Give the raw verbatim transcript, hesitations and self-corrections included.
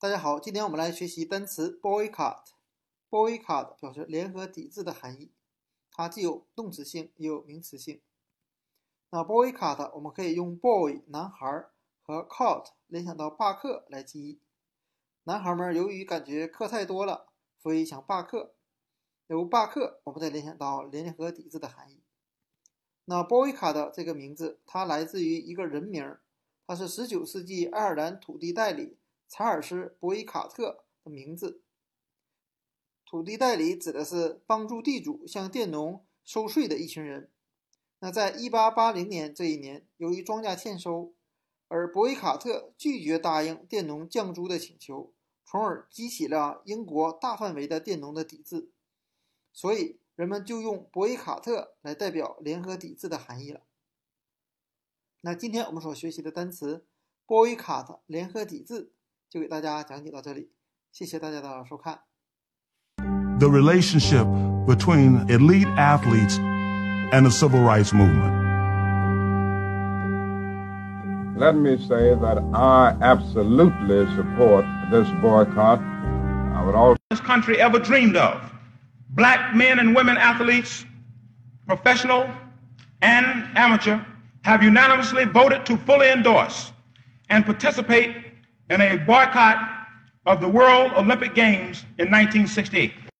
大家好，今天我们来学习单词 boycott。boycott 表示联合抵制的含义，它既有动词性也有名词性。那 boycott 我们可以用 boy 男孩和 caught 联想到罢课来记忆。男孩们由于感觉课太多了，所以想罢课。由罢课我们再联想到联合抵制的含义。那 boycott 这个名字它来自于一个人名，它是十九世纪爱尔兰土地代理查尔斯·博伊卡特的名字。土地代理指的是帮助地主向佃农收税的一群人。那在一八八零年这一年，由于庄稼欠收，而博伊卡特拒绝答应佃农降租的请求，从而激起了英国大范围的佃农的抵制，所以人们就用博伊卡特来代表联合抵制的含义了。那今天我们所学习的单词 boycott 联合抵制就给大家讲解到这里，谢谢大家的收看。 The relationship between elite athletes and the civil rights movement. Let me say that I absolutely support this boycott. I would also this country ever dreamed of. Black men and women athletes, professional and amateur, have unanimously voted to fully endorse and participate in a boycott of the World Olympic Games in nineteen sixty-eight.